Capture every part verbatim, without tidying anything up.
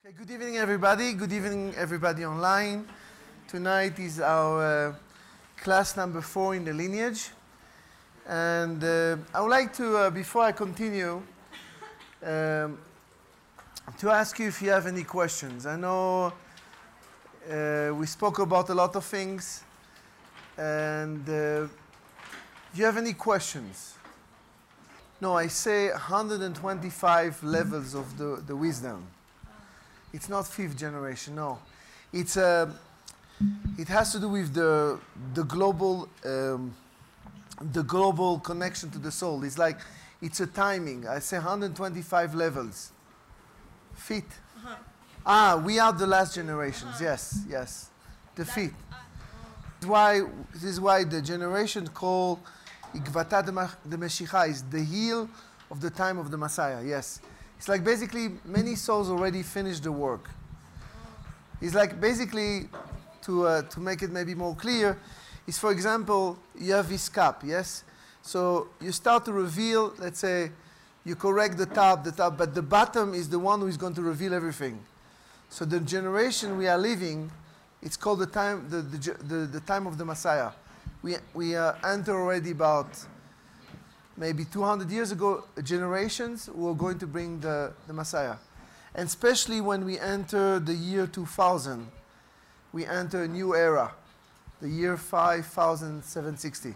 Okay, good evening, everybody. Good evening, everybody online. Tonight is our uh, class number four in the lineage. And uh, I would like to, uh, before I continue, um, to ask you if you have any questions. I know uh, we spoke about a lot of things. And uh, do you have any questions? No, I say one hundred twenty-five levels of the, the wisdom. It's not fifth generation, no. It's uh, it has to do with the the global um, the global connection to the soul. It's like it's a timing. I say one hundred twenty-five levels. Feet. Uh-huh. Ah, we are the last generations. Uh-huh. Yes, yes. The that, feet. Uh, oh. This is why this is why the generation called Ikvata de Meshicha is the heel of the time of the Messiah. Yes. It's like basically many souls already finished the work. It's like basically, to uh, to make it maybe more clear, is for example, you have this cup, yes? So you start to reveal, let's say, you correct the top, the top, but the bottom is the one who is going to reveal everything. So the generation we are living, it's called the time, the, the, the, the time of the Messiah. We, we uh, enter already about maybe two hundred years ago, generations who are going to bring the, the Messiah. And especially when we enter the year two thousand, we enter a new era, the year five thousand seven hundred sixty.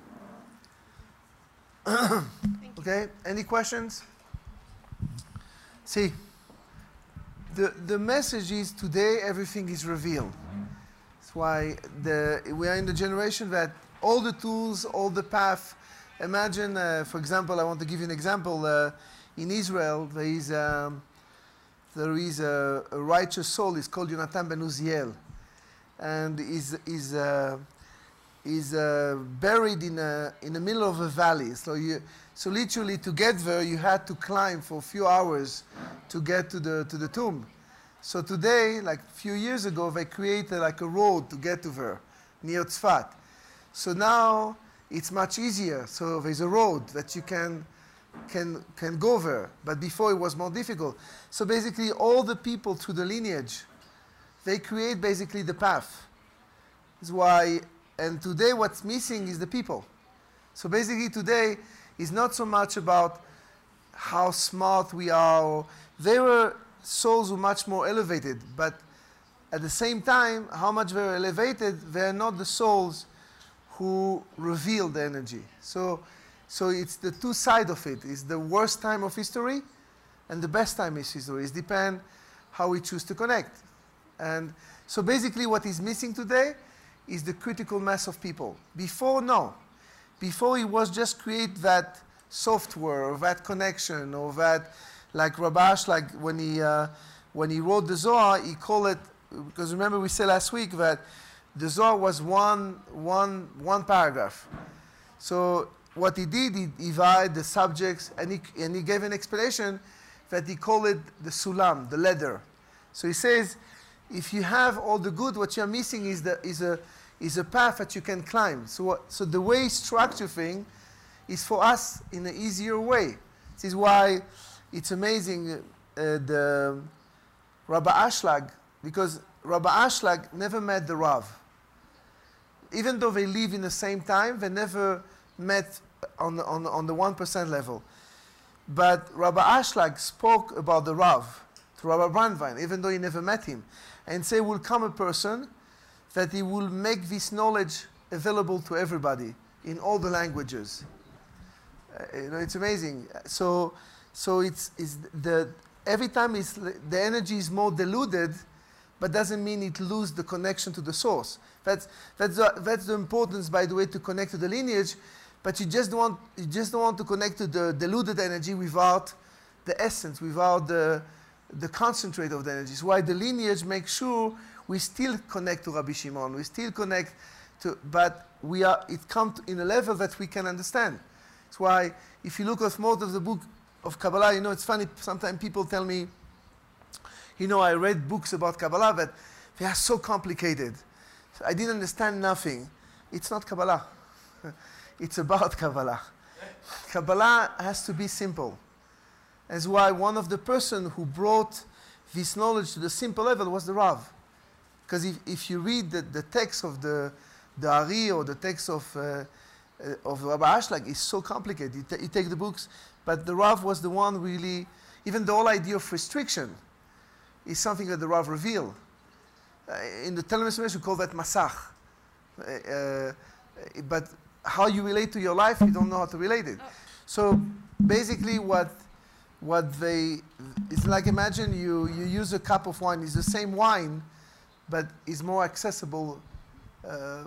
Okay, any questions? See, the, the message is today everything is revealed. That's why the, we are in the generation that all the tools, all the path. Imagine, uh, for example, I want to give you an example. Uh, in Israel, there is, um, there is a, a righteous soul. It's called Yonatan ben Uziel. And is is uh, is uh, buried in a, in the middle of a valley. So, you, so literally to get there, you had to climb for a few hours to get to the, to the tomb. So today, like a few years ago, they created like a road to get to there, near Tzfat. So now, it's much easier. So there's a road that you can, can, can go there. But before it was more difficult. So basically all the people through the lineage, they create basically the path. That's why, and today what's missing is the people. So basically today is not so much about how smart we are. They were souls who are much more elevated. But at the same time, how much they're elevated, they're not the souls who reveal the energy. So, so it's the two sides of it. It's the worst time of history and the best time of history. It depends how we choose to connect. And so basically what is missing today is the critical mass of people. Before, no. Before it was just create that software or that connection or that, like Rabash, like when he, uh, when he wrote the Zohar, he called it, because remember we said last week that the Zohar was one, one, one paragraph. So what he did, he divided the subjects, and he, and he gave an explanation that he called it the sulam, the ladder. So he says, if you have all the good, what you're missing is, the, is, a, is a path that you can climb. So, what, so the way he structure thing is for us in an easier way. This is why it's amazing, uh, the Rabbi Ashlag, because Rabbi Ashlag never met the Rav. Even though they live in the same time, they never met on the, on, on the one percent level. But Rabbi Ashlag spoke about the Rav to Rabbi Brandwein, even though he never met him, and say, will come a person that he will make this knowledge available to everybody in all the languages. Uh, you know, it's amazing. So, so it's, it's the, every time it's, the energy is more diluted, but doesn't mean it loses the connection to the source. That's, that's, the, that's the importance, by the way, to connect to the lineage, but you just don't want, you just don't want to connect to the diluted energy without the essence, without the, the concentrate of the energy. So why the lineage makes sure we still connect to Rabbi Shimon, we still connect to, but we are, it comes in a level that we can understand. That's why if you look at most of the book of Kabbalah, you know, it's funny, sometimes people tell me, you know, I read books about Kabbalah, but they are so complicated. I didn't understand nothing. It's not Kabbalah. It's about Kabbalah. Kabbalah has to be simple. That's why one of the person who brought this knowledge to the simple level was the Rav. Because if, if you read the, the text of the, the Ari or the text of, uh, uh, of Rabbi Ashlag, it's so complicated. You, you take the books, but the Rav was the one really, even the whole idea of restriction is something that the Rav revealed. Uh, in the Talmud we call that Masach. Uh, uh, but how you relate to your life, you don't know how to relate it. So basically what what they, it's like imagine you, you use a cup of wine, it's the same wine, but it's more accessible uh,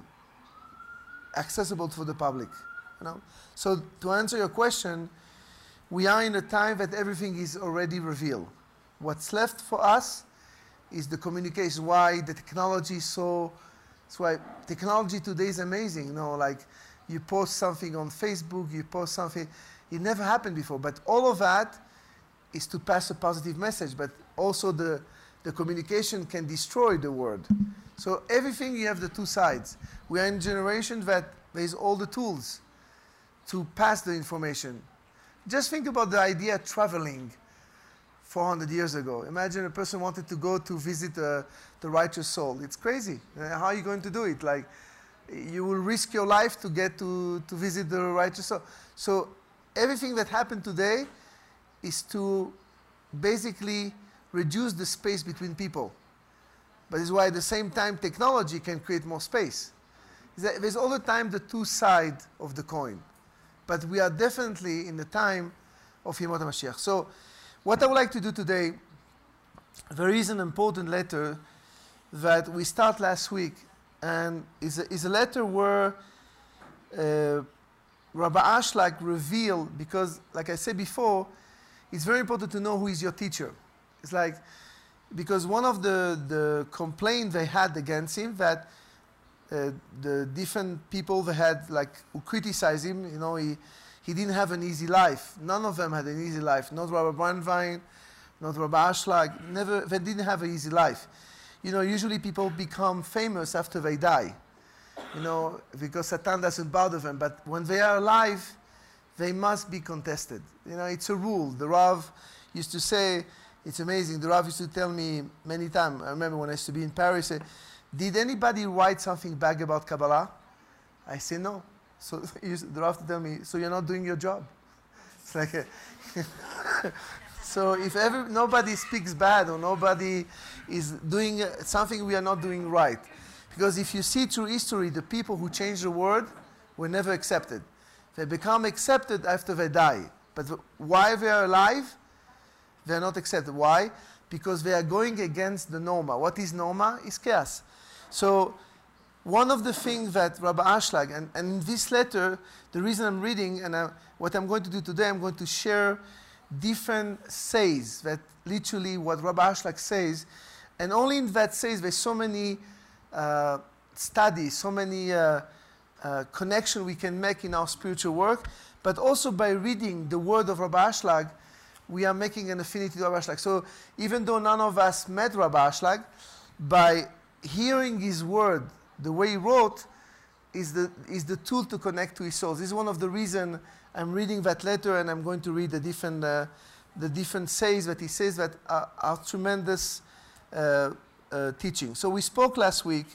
accessible for the public. You know? So to answer your question, we are in a time that everything is already revealed. What's left for us is the communication. Why the technology is so, that's why technology today is amazing. You know, like you post something on Facebook, you post something, it never happened before, but all of that is to pass a positive message, but also the, the communication can destroy the word. So everything, you have the two sides. We are in a generation that there is all the tools to pass the information. Just think about the idea of traveling four hundred years ago. Imagine a person wanted to go to visit uh, the righteous soul. It's crazy. Uh, how are you going to do it? Like, you will risk your life to get to, to visit the righteous soul. So everything that happened today is to basically reduce the space between people. But it's why at the same time technology can create more space. There's all the time the two sides of the coin. But we are definitely in the time of Yemot HaMashiach. So what I would like to do today, there is an important letter that we start last week, and is a, is a letter where uh, Rabbi Ashlag revealed, because like I said before, it's very important to know who is your teacher. It's like, because one of the, the complaints they had against him, that uh, the different people they had, like, who criticized him, you know, he, he didn't have an easy life. None of them had an easy life. Not Rabbi Brandwein, not Rabbi Ashlag, never, they didn't have an easy life. You know, usually people become famous after they die, you know, because Satan doesn't bother them. But when they are alive, they must be contested. You know, it's a rule. The Rav used to say, it's amazing, the Rav used to tell me many times, I remember when I used to be in Paris, say, did anybody write something bad about Kabbalah? I say no. So he used, the Rav to tell me, so you're not doing your job. It's like a so if every, nobody speaks bad or nobody is doing something we are not doing right. Because if you see through history, the people who changed the world were never accepted. They become accepted after they die. But while they are alive, they are not accepted. Why? Because they are going against the norma. What is norma? Is chaos. So one of the things that Rabbi Ashlag, and, and in this letter, the reason I'm reading, and I, what I'm going to do today, I'm going to share different says, that literally what Rabbi Ashlag says, and only in that says there's so many uh, studies, so many uh, uh, connections we can make in our spiritual work, but also by reading the word of Rabbi Ashlag, we are making an affinity to Rabbi Ashlag. So even though none of us met Rabbi Ashlag, by hearing his word, the way he wrote, is the, is the tool to connect to his soul. This is one of the reasons I'm reading that letter, and I'm going to read the different, uh, the different says that he says that are, are tremendous uh, uh, teaching. So we spoke last week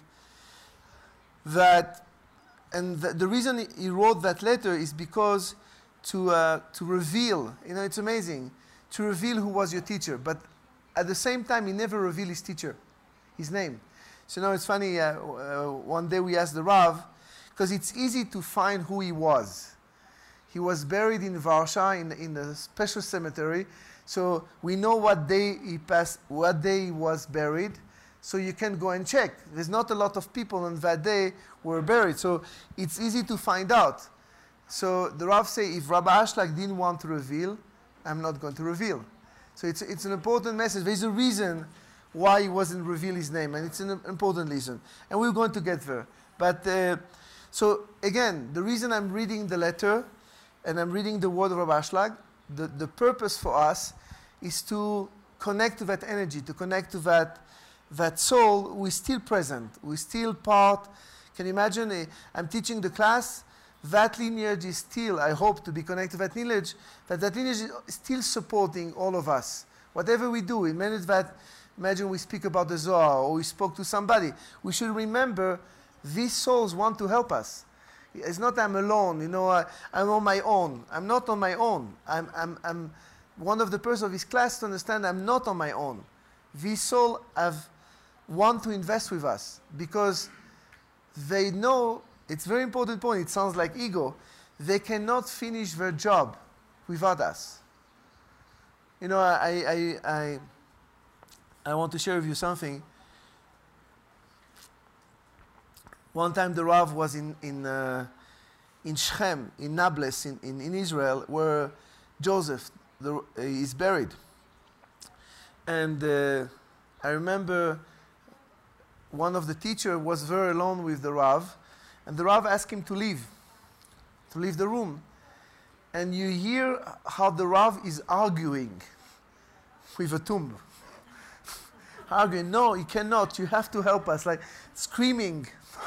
that, and the, the reason he wrote that letter is because to, uh, to reveal, you know, it's amazing, to reveal who was your teacher, but at the same time, he never revealed his teacher, his name. So now it's funny, uh, uh, one day we asked the Rav, because it's easy to find who he was. He was buried in Varsha in, in a special cemetery, so we know what day he passed, what day he was buried, so you can go and check. There's not a lot of people on that day who were buried, so it's easy to find out. So the Rav say, if Rabbi Ashlag didn't want to reveal, I'm not going to reveal. So it's, it's an important message. There's a reason why he wasn't reveal his name, and it's an important reason. And we're going to get there. But uh, so again, the reason I'm reading the letter and I'm reading the word of Rabbi Ashlag, the, the purpose for us is to connect to that energy, to connect to that, that soul who is still present, who is still part. Can you imagine, uh, I'm teaching the class, that lineage is still, I hope to be connected to that lineage, that that lineage is still supporting all of us. Whatever we do, it means that imagine we speak about the Zohar or we spoke to somebody. We should remember these souls want to help us. It's not I'm alone, you know, I, I'm on my own. I'm not on my own. I'm, I'm, I'm one of the persons of his class to understand I'm not on my own. These souls have want to invest with us because they know, it's a very important point, it sounds like ego, they cannot finish their job without us. You know, I, I, I, I want to share with you something. One time the Rav was in, in, uh, in Shechem, in Nablus, in, in, in Israel, where Joseph the, uh, is buried. And uh, I remember one of the teachers was very alone with the Rav, and the Rav asked him to leave, to leave the room. And you hear how the Rav is arguing with a tomb. Arguing, no, you cannot, you have to help us, like screaming.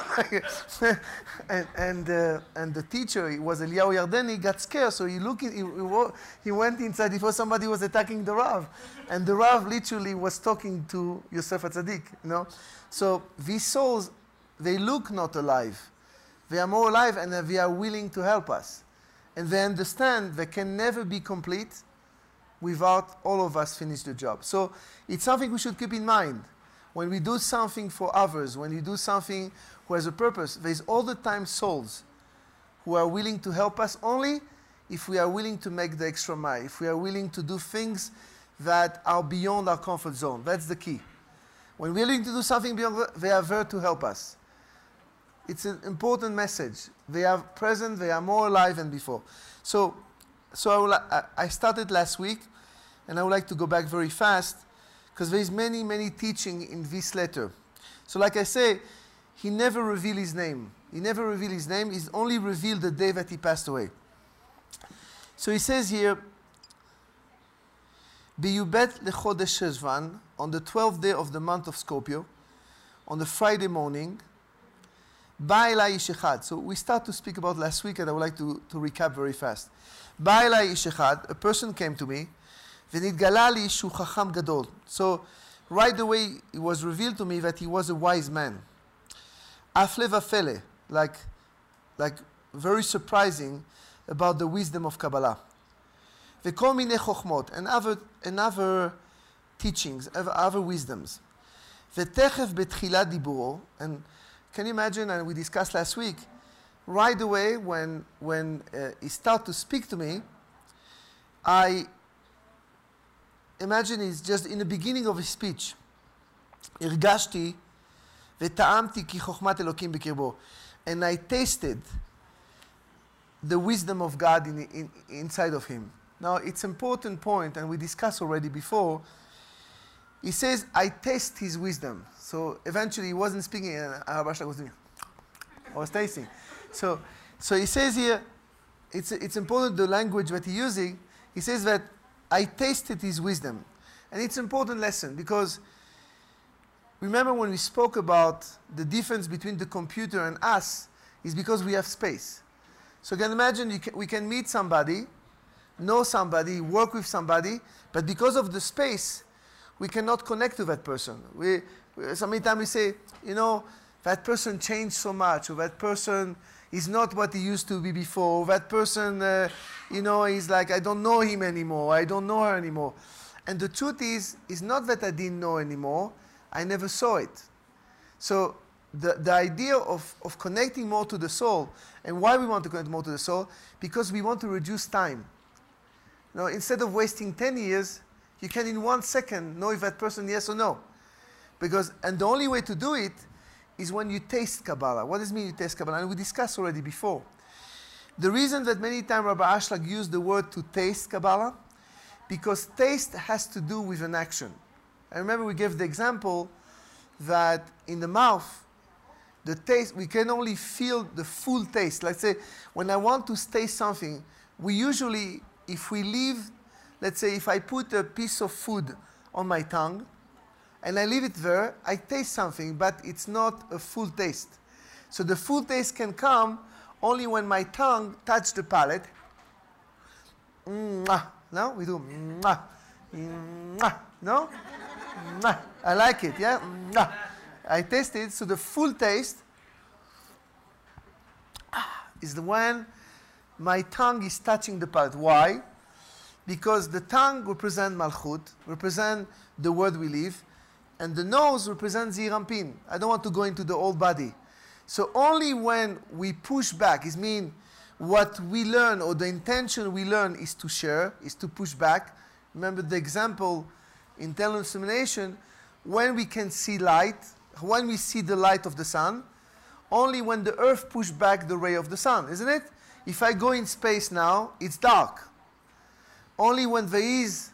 and and, uh, and the teacher, it was Eliyahu Yardeni, got scared, so he, looked, he, he went inside before somebody was attacking the Rav. And the Rav literally was talking to Yosef HaTzadik, you know. So these souls, they look not alive. They are more alive and they are willing to help us. And they understand they can never be complete without all of us finish the job. So it's something we should keep in mind. When we do something for others, when we do something who has a purpose, there's all the time souls who are willing to help us only if we are willing to make the extra mile, if we are willing to do things that are beyond our comfort zone. That's the key. When we're willing to do something beyond, they are there to help us. It's an important message. They are present, they are more alive than before. So, so I, will, I, I started last week, and I would like to go back very fast, because there is many, many teaching in this letter. So like I say, he never revealed his name. He never revealed his name. He's only revealed the day that he passed away. So he says here, Biyubet lechodesh Sheshvan, on the twelfth day of the month of Scorpio, on the Friday morning, Ba'elai ish echad. So we start to speak about last week, and I would like to, to recap very fast. Ba'elai ish echad, a person came to me, v'nitgala li shu chacham gadol. So right away it was revealed to me that he was a wise man. Afle vafele, like, like very surprising about the wisdom of Kabbalah. V'kol minei chochmot, and other, and other teachings, other, other wisdoms. V'techef betchilat diburo, and can you imagine, and we discussed last week, right away when, when uh, he started to speak to me, I imagine he's just in the beginning of his speech. Irgashti v'ta'amti ki chochmat Elokim b'kirbo. And I tasted the wisdom of God in, in, inside of him. Now, it's an important point, and we discussed already before. He says, I taste his wisdom. So eventually he wasn't speaking, and Arabashak was doing, I was tasting. So, so he says here, it's, it's important the language that he's using. He says that I tasted his wisdom. And it's an important lesson because remember when we spoke about the difference between the computer and us is because we have space. So you can imagine you can, we can meet somebody, know somebody, work with somebody, but because of the space, we cannot connect to that person. We, so many times we say, you know, that person changed so much, or that person is not what he used to be before, or that person, uh, you know, is like, I don't know him anymore, I don't know her anymore. And the truth is, is not that I didn't know anymore, I never saw it. So the, the idea of, of connecting more to the soul, and why we want to connect more to the soul, because we want to reduce time. You know, instead of wasting ten years, you can in one second know if that person yes or no. Because, and the only way to do it is when you taste Kabbalah. What does it mean you taste Kabbalah? And we discussed already before. The reason that many times Rabbi Ashlag used the word to taste Kabbalah, because taste has to do with an action. I remember we gave the example that in the mouth, the taste, we can only feel the full taste. Let's say, when I want to taste something, we usually, if we leave, let's say if I put a piece of food on my tongue, and I leave it there, I taste something, but it's not a full taste. So the full taste can come only when my tongue touches the palate. Mwah. No? We do mwah. Mwah. No? Mwah. I like it, yeah? Mwah. I taste it, so the full taste is the when my tongue is touching the palate. Why? Because the tongue represents Malchut, represents the word we live, and the nose represents Zeir Anpin. I don't want to go into the whole body. So only when we push back, it means what we learn or the intention we learn is to share, is to push back. Remember the example in telecommunication, when we can see light, when we see the light of the sun, only when the earth pushes back the ray of the sun, isn't it? If I go in space now, it's dark. Only when there is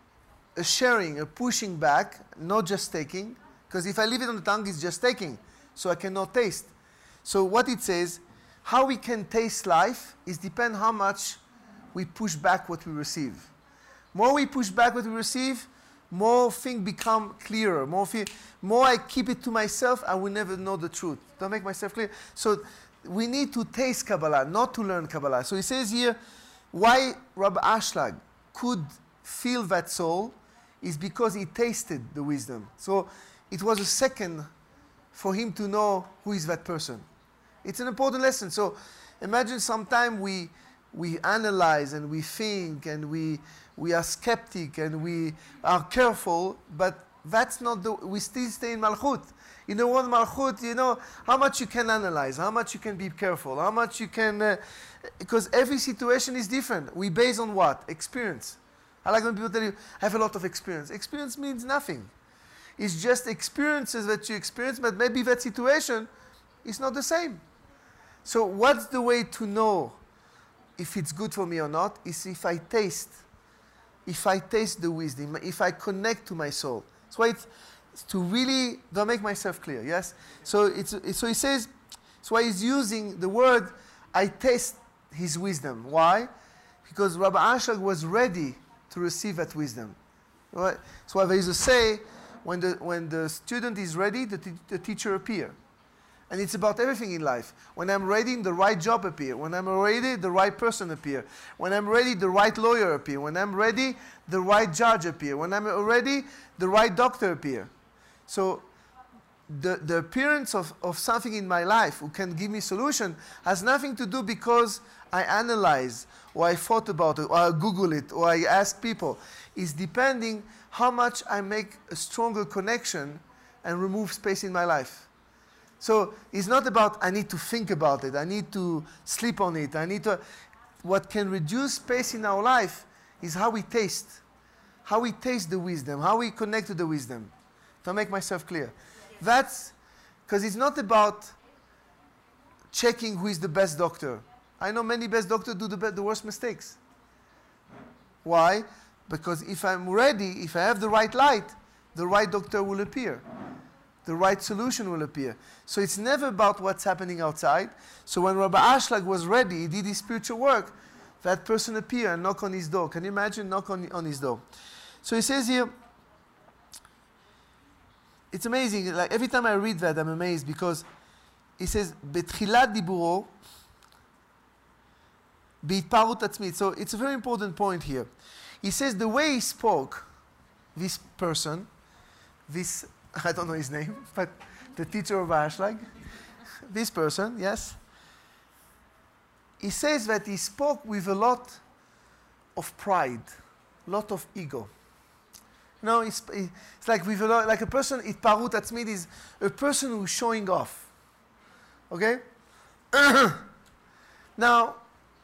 a sharing, a pushing back, not just taking, because if I leave it on the tongue, it's just taking, so I cannot taste. So what it says, how we can taste life is depend how much we push back what we receive. More we push back what we receive, more things become clearer. More, more I keep it to myself, I will never know the truth. Don't make myself clear. So we need to taste Kabbalah, not to learn Kabbalah. So he says here, why Rabbi Ashlag could feel that soul is because he tasted the wisdom. So it was a second for him to know who is that person. It's an important lesson. So imagine sometime we we analyze and we think and we we are skeptic and we are careful, but that's not the, we still stay in Malchut. You know what, Malchut, you know, how much you can analyze, how much you can be careful, how much you can, uh, because every situation is different. We base on what? Experience. I like when people tell you, I have a lot of experience. Experience means nothing. It's just experiences that you experience, but maybe that situation is not the same. So what's the way to know if it's good for me or not? Is if I taste. If I taste the wisdom, if I connect to my soul. That's why it's, it's to really, don't make myself clear, yes? So, it's, it's, so he says, that's why he's using the word, I taste his wisdom. Why? Because Rabbi Ashlag was ready to receive that wisdom. Right? So why there is a say, when the, when the student is ready, the, t the teacher appears. And it's about everything in life. When I'm ready, the right job appear. When I'm ready, the right person appear. When I'm ready, the right lawyer appear. When I'm ready, the right judge appear. When I'm ready, the right doctor appear. So the, the appearance of, of something in my life who can give me solution has nothing to do because I analyze or I thought about it or I Google it or I ask people. It's depending how much I make a stronger connection and remove space in my life. So it's not about I need to think about it, I need to sleep on it, I need to... What can reduce space in our life is how we taste. How we taste the wisdom, how we connect to the wisdom. To make myself clear. That's... Because it's not about checking who is the best doctor. I know many best doctors do the, be the worst mistakes. Why? Because if I'm ready, if I have the right light, the right doctor will appear. The right solution will appear. So it's never about what's happening outside. So when Rabbi Ashlag was ready, he did his spiritual work, that person appeared and knocked on his door. Can you imagine? Knock on, on his door. So he says here, it's amazing. Like every time I read that, I'm amazed because he says, Betchilat diburo, beitparut atzmit. So it's a very important point here. He says the way he spoke, this person, this I don't know his name, but the teacher of Ashlag, this person, yes, he says that he spoke with a lot of pride, a lot of ego. No, it's, it's like with a lot, like a person, itparut atzmit is a person who's showing off. Okay? Now,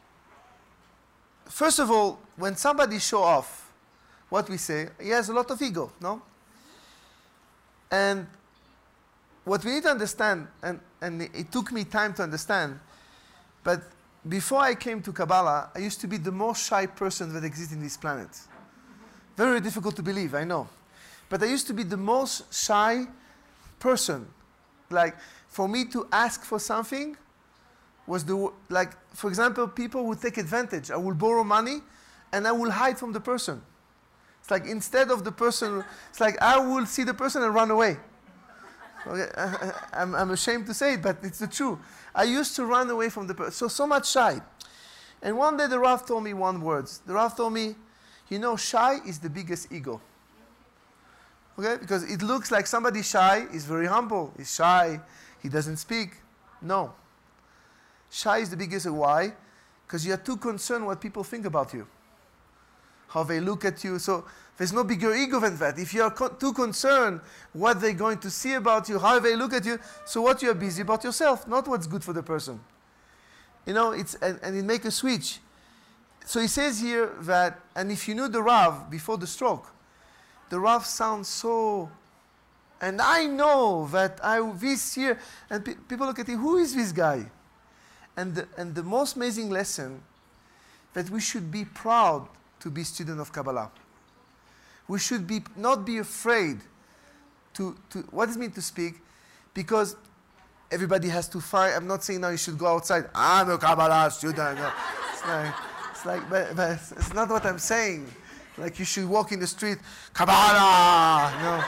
first of all, when somebody show off, what we say, he has a lot of ego, no? And what we need to understand, and, and it took me time to understand, but before I came to Kabbalah, I used to be the most shy person that exists in this planet. Very difficult to believe, I know. But I used to be the most shy person. Like, for me to ask for something was the, like, for example, people would take advantage. I will borrow money and I will hide from the person. It's like instead of the person, it's like I will see the person and run away. Okay, I, I'm, I'm ashamed to say it, but it's the truth. I used to run away from the person, so, so much shy. And one day the Rav told me one word. The Rav told me, you know, shy is the biggest ego. Okay? Because it looks like somebody shy is very humble. He's shy. He doesn't speak. No. Shy is the biggest. Why? Because you are too concerned what people think about you. How they look at you. So there's no bigger ego than that. If you are co- too concerned what they're going to see about you, how they look at you, so what you are busy about yourself, not what's good for the person. You know, it's and, and it make a switch. So he says here that, and if you knew the Rav before the stroke, the Rav sounds so, and I know that I this year, and pe- people look at him, who is this guy? And the, and the most amazing lesson, that we should be proud to be student of Kabbalah. We should be not be afraid to, to what does it mean to speak? Because everybody has to find, I'm not saying now you should go outside, I'm a Kabbalah student. No. It's like, it's like but, but it's not what I'm saying. Like you should walk in the street, Kabbalah! No.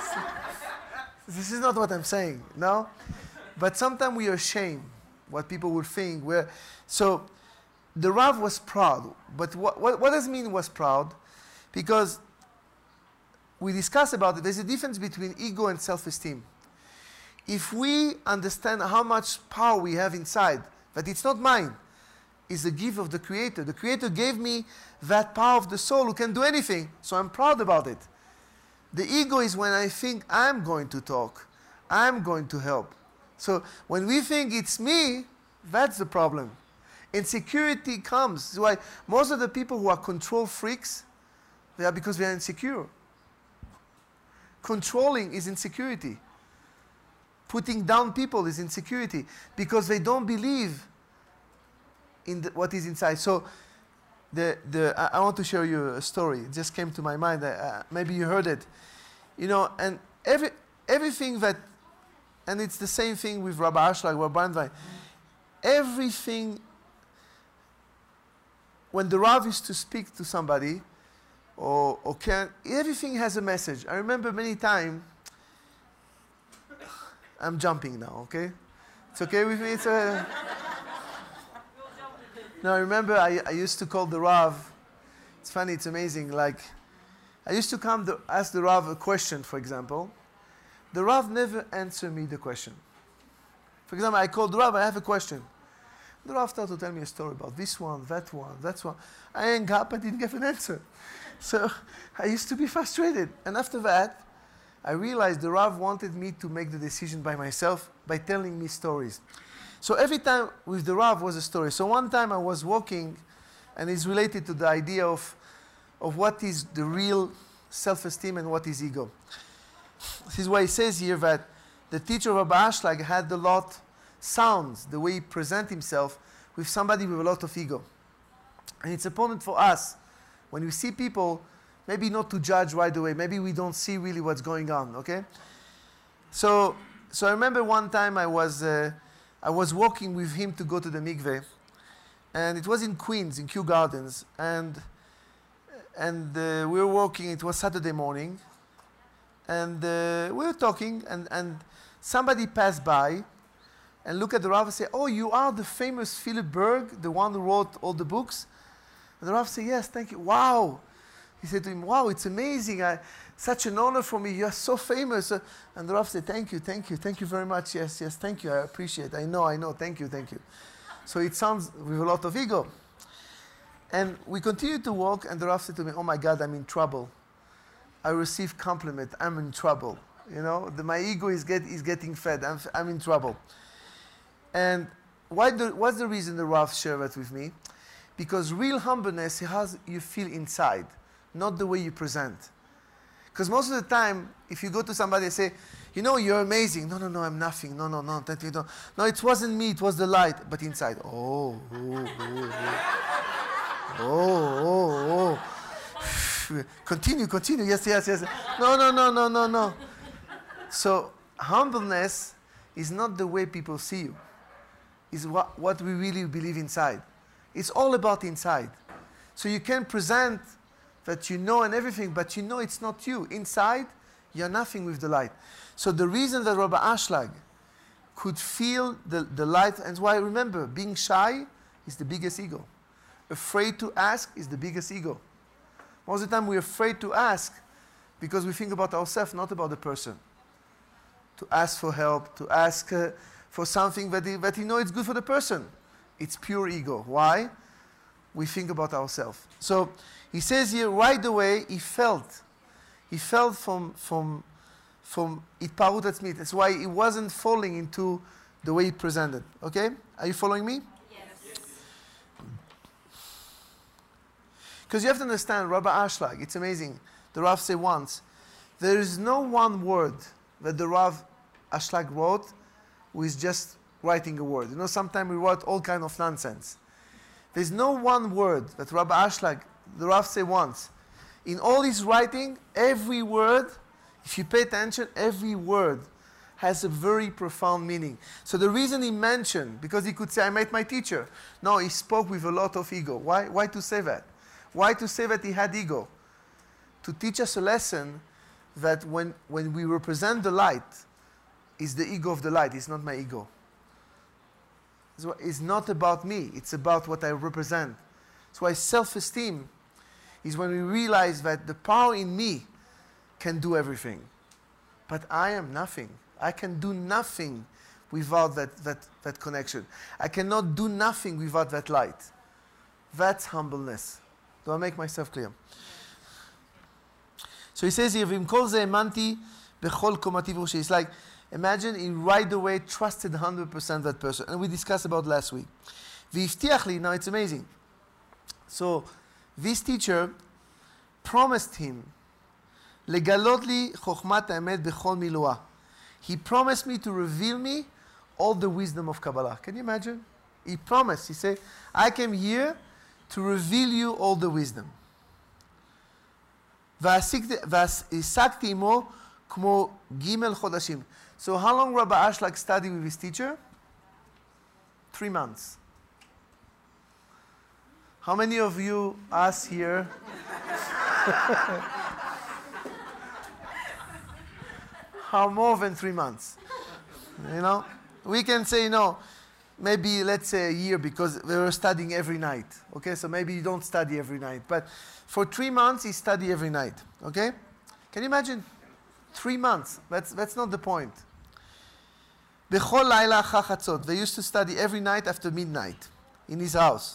This is not what I'm saying, no? But sometimes we are ashamed what people will think. We're, so the Rav was proud. But what, what, what does it mean was proud? Because we discussed about it, there's a difference between ego and self-esteem. If we understand how much power we have inside, that it's not mine, it's a gift of the Creator. The Creator gave me that power of the soul who can do anything, so I'm proud about it. The ego is when I think I'm going to talk, I'm going to help. So when we think it's me, that's the problem. Insecurity comes. That's why most of the people who are control freaks, they are because they are insecure. Controlling is insecurity. Putting down people is insecurity because they don't believe in the, what is inside. So the, the, I, I want to show you a story. It just came to my mind. Uh, maybe you heard it. You know, and every, everything that, and it's the same thing with Rabbi Ashlag, Rabbi Brandwein. Everything, when the Rav used to speak to somebody, or, or can, everything has a message. I remember many times, I'm jumping now, okay? It's okay with me? It's a, no, I remember I, I used to call the Rav, it's funny, it's amazing, like, I used to come to ask the Rav a question, for example. The Rav never answered me the question. For example, I called the Rav, I have a question. The Rav started to tell me a story about this one, that one, that one. I hung up, I didn't get an answer. So I used to be frustrated. And after that, I realized the Rav wanted me to make the decision by myself by telling me stories. So every time with the Rav was a story. So one time I was walking, and it's related to the idea of, of what is the real self-esteem and what is ego. This is why he says here that the teacher of Rabbi Ashlag had a lot sounds, the way he present himself with somebody with a lot of ego. And it's important for us, when we see people, maybe not to judge right away, maybe we don't see really what's going on, okay? So, so I remember one time I was, uh, I was walking with him to go to the mikveh, and it was in Queens, in Kew Gardens, and, and uh, we were walking, it was Saturday morning, and uh, we were talking, and, and somebody passed by, and look at the Rav and say, oh, you are the famous Philip Berg, the one who wrote all the books? And the Rav said, yes, thank you. Wow. He said to him, wow, it's amazing. I, such an honor for me. You are so famous. Uh, and the Rav said, thank you, thank you. Thank you very much. Yes, yes, thank you. I appreciate it. I know, I know. Thank you, thank you. So it sounds with a lot of ego. And we continued to walk, and the Rav said to me, oh, my God, I'm in trouble. I receive compliment. I'm in trouble. You know, the, my ego is, get, is getting fed. I'm, I'm in trouble. And why the, what's the reason the Rav shared that with me? Because real humbleness has you feel inside, not the way you present. Because most of the time, if you go to somebody and say, you know, you're amazing. No, no, no, I'm nothing. No, no, no, that you don't. No, it wasn't me, it was the light. But inside, oh, oh, oh, oh, oh, oh. Continue, continue. Yes, yes, yes. No, no, no, no, no, no. So humbleness is not the way people see you. It's what, what we really believe inside. It's all about inside. So you can present that you know and everything, but you know it's not you. Inside, you're nothing with the light. So the reason that Rabbi Ashlag could feel the, the light, and why, remember, being shy is the biggest ego. Afraid to ask is the biggest ego. Most of the time we're afraid to ask because we think about ourselves, not about the person. To ask for help, to ask uh, for something that he, that he knows it's good for the person. It's pure ego. Why? We think about ourselves. So he says here, right away, he felt. He felt from, from, from Itparut Atzmit. That's why he wasn't falling into the way he presented. Okay? Are you following me? Yes. Because you have to understand, Rabbi Ashlag, it's amazing. The Rav said once, there is no one word that the Rav Ashlag wrote who is just writing a word. You know, sometimes we wrote all kind of nonsense. There's no one word that Rabbi Ashlag, the Rav said once. In all his writing, every word, if you pay attention, every word has a very profound meaning. So the reason he mentioned, because he could say, I met my teacher. No, he spoke with a lot of ego. Why, why to say that? Why to say that he had ego? To teach us a lesson that when, when we represent the light, it's the ego of the light, it's not my ego. It's not about me, it's about what I represent. That's why self-esteem is when we realize that the power in me can do everything. But I am nothing. I can do nothing without that, that, that connection. I cannot do nothing without that light. That's humbleness. Do I make myself clear? So he says here, "V'im kol ze emanti bechol komati v'roshi." It's like, imagine he right away trusted one hundred percent that person. And we discussed about last week. V'ivtiach li, now it's amazing. So this teacher promised him, legalot li chokhmat ha'emet bechol miluah. He promised me to reveal me all the wisdom of Kabbalah. Can you imagine? He promised. He said, I came here to reveal you all the wisdom. והעסקתי עמו כמו ג' חודשים. So how long Rabbi Ashlag studied with his teacher? Three months. How many of you, us here, how more than three months? You know? We can say, no, maybe let's say a year because we were studying every night. Okay, so maybe you don't study every night. But for three months, he studied every night. Okay? Can you imagine? Three months. That's, that's not the point. Bechol laila achar chatzot. They used to study every night after midnight in his house.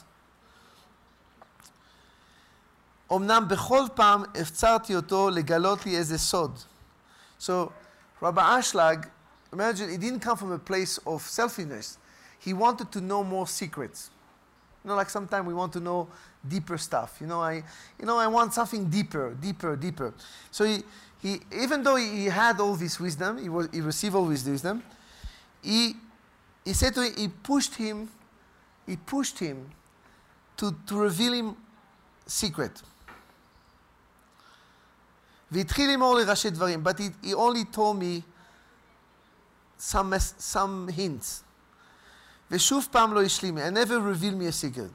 אמנם בכל פעם הפצרתי אותו לגלות לי איזה סוד. So, Rabbi Ashlag, imagine, he didn't come from a place of selfishness. He wanted to know more secrets. You know, like sometimes we want to know deeper stuff. You know, I, you know, I want something deeper, deeper, deeper. So he, he even though he, he had all this wisdom, he, was, he received all this wisdom, he, he said to him, he pushed him, he pushed him to, to reveal him secret. והתחיל לאמור לי ראשי דברים, but he, he only told me some, some hints. ושוב פעם לא השלים, and never revealed me a secret.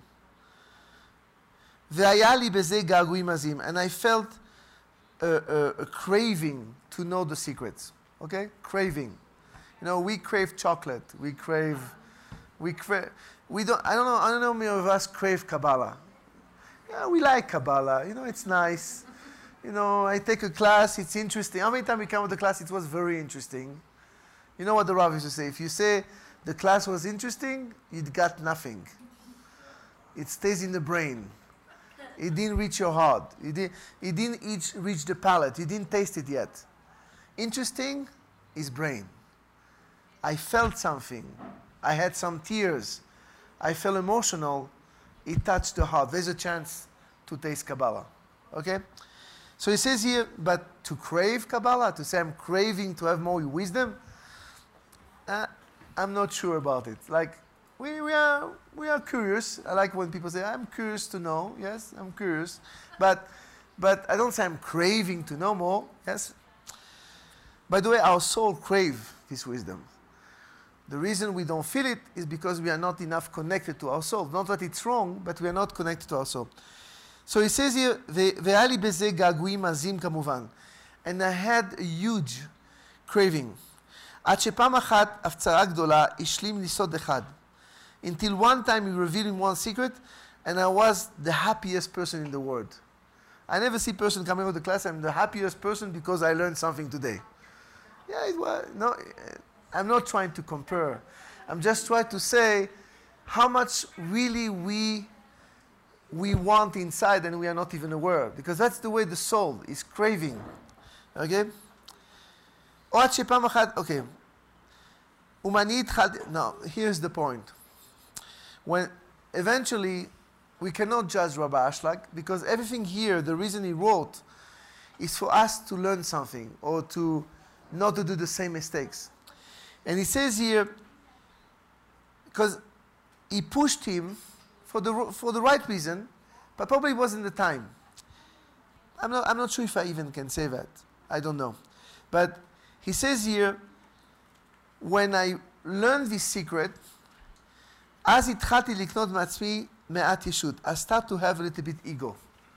והיה לי בזה געגועים עזים, and I felt a, a, a craving to know the secrets. Okay? Craving. You know, we crave chocolate. We crave, we crave, we don't, I don't know, I don't know many of us crave Kabbalah. Yeah, we like Kabbalah. You know, it's nice. You know, I take a class, it's interesting. How many times we come to the class, it was very interesting. You know what the Rav used to say? If you say the class was interesting, you got nothing. It stays in the brain. It didn't reach your heart. It, did, it didn't each reach the palate. You didn't taste it yet. Interesting is brain. I felt something. I had some tears. I felt emotional. It touched the heart. There's a chance to taste Kabbalah. Okay? So he says here, but to crave Kabbalah, to say I'm craving to have more wisdom, uh, I'm not sure about it. Like, we, we, are, we are curious. I like when people say, I'm curious to know. Yes, I'm curious. But, but I don't say I'm craving to know more. Yes? By the way, our soul crave this wisdom. The reason we don't feel it is because we are not enough connected to our soul. Not that it's wrong, but we are not connected to our soul. So he says here, והיה לי בזה געגועים עזים כמובן. And I had a huge craving. עד שפעם אחת הפצרה גדולה השלים לי סוד אחד. Until one time he revealed me one secret, and I was the happiest person in the world. I never see person coming out of the class, I'm the happiest person because I learned something today. Yeah, it was, no, I'm not trying to compare. I'm just trying to say how much really we, we want inside and we are not even aware. Because that's the way the soul is craving. Okay? Okay. Now, here's the point. When eventually, we cannot judge Rabbi Ashlag because everything here, the reason he wrote, is for us to learn something or to not to do the same mistakes. And he says here, because he pushed him for the, for the right reason, but probably wasn't the time. I'm not, I'm not sure if I even can say that. I don't know. But he says here, when I learned this secret, אז התחלתי לקנות מעצמי מעט ישות. I start to have a little bit ego.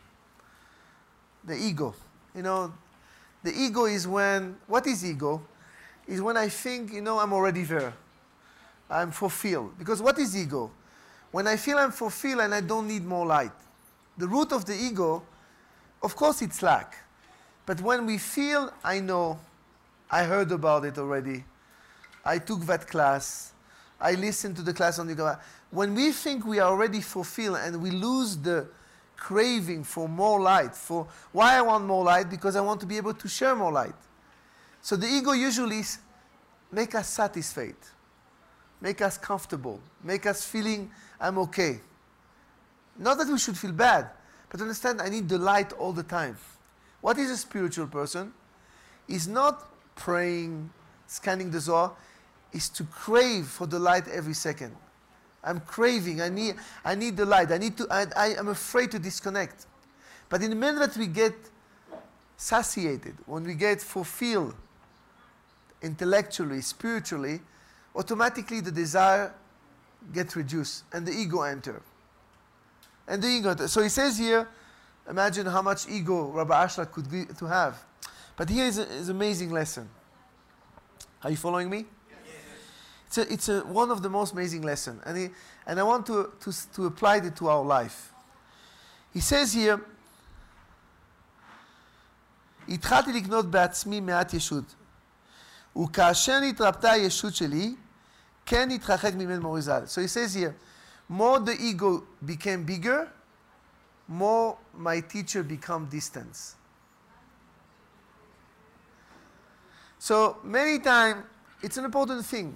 The ego. You know, the ego is when, what is ego? Is when I think, you know, I'm already there. I'm fulfilled. Because what is ego? When I feel I'm fulfilled and I don't need more light. The root of the ego, of course it's lack. But when we feel, I know, I heard about it already, I took that class, I listened to the class on yoga. When we think we are already fulfilled and we lose the craving for more light, for why I want more light? Because I want to be able to share more light. So the ego usually make us satisfied, make us comfortable, make us feeling I'm okay. Not that we should feel bad, but understand I need the light all the time. What is a spiritual person? Is not praying, scanning the Zohar, is to crave for the light every second. I'm craving, I need, I need the light, I need to, I, I am afraid to disconnect. But in the minute that we get satiated, when we get fulfilled intellectually, spiritually, automatically the desire gets reduced and the ego enter. And the ego enter. So he says here, imagine how much ego Rabbi Ashlag could be, to have. But here is an amazing lesson. Are you following me? It's, a, it's a, one of the most amazing lessons. And, he, and I want to, to, to apply it to our life. He says here, התחלתי לקנות בעצמי מעט ישות. וכאשר נתרפתה הישות שלי, כן נתרחק ממנו מוריזל. So he says here, more the ego became bigger, more my teacher become distant. So many times, it's an important thing.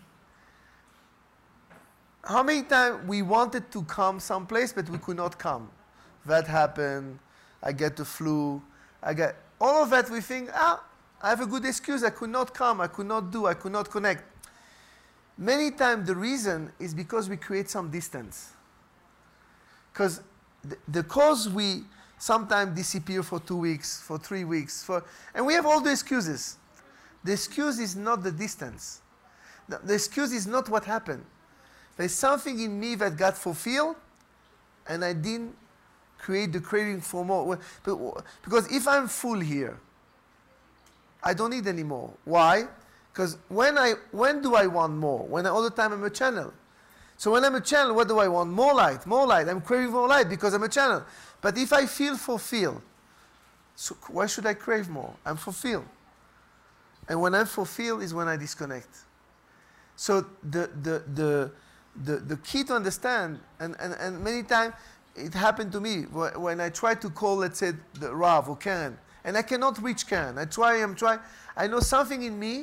How many times we wanted to come someplace, but we could not come? That happened, I get the flu, I get, all of that we think, ah, I have a good excuse, I could not come, I could not do, I could not connect. Many times the reason is because we create some distance. Because the, the cause we sometimes disappear for two weeks, for three weeks, for, and we have all the excuses. The excuse is not the distance. The, the excuse is not what happened. There's something in me that got fulfilled, and I didn't create the craving for more. Because if I'm full here, I don't need any more. Why? Because when I when do I want more? When I, all the time I'm a channel. So when I'm a channel, what do I want? More light, more light. I'm craving more light because I'm a channel. But if I feel fulfilled, so why should I crave more? I'm fulfilled. And when I'm fulfilled is when I disconnect. So the the the the, the key to understand, and, and, and many times it happened to me when I try to call, let's say, the Rav or Karen, and I cannot reach Karen. I try, I'm trying. I know something in me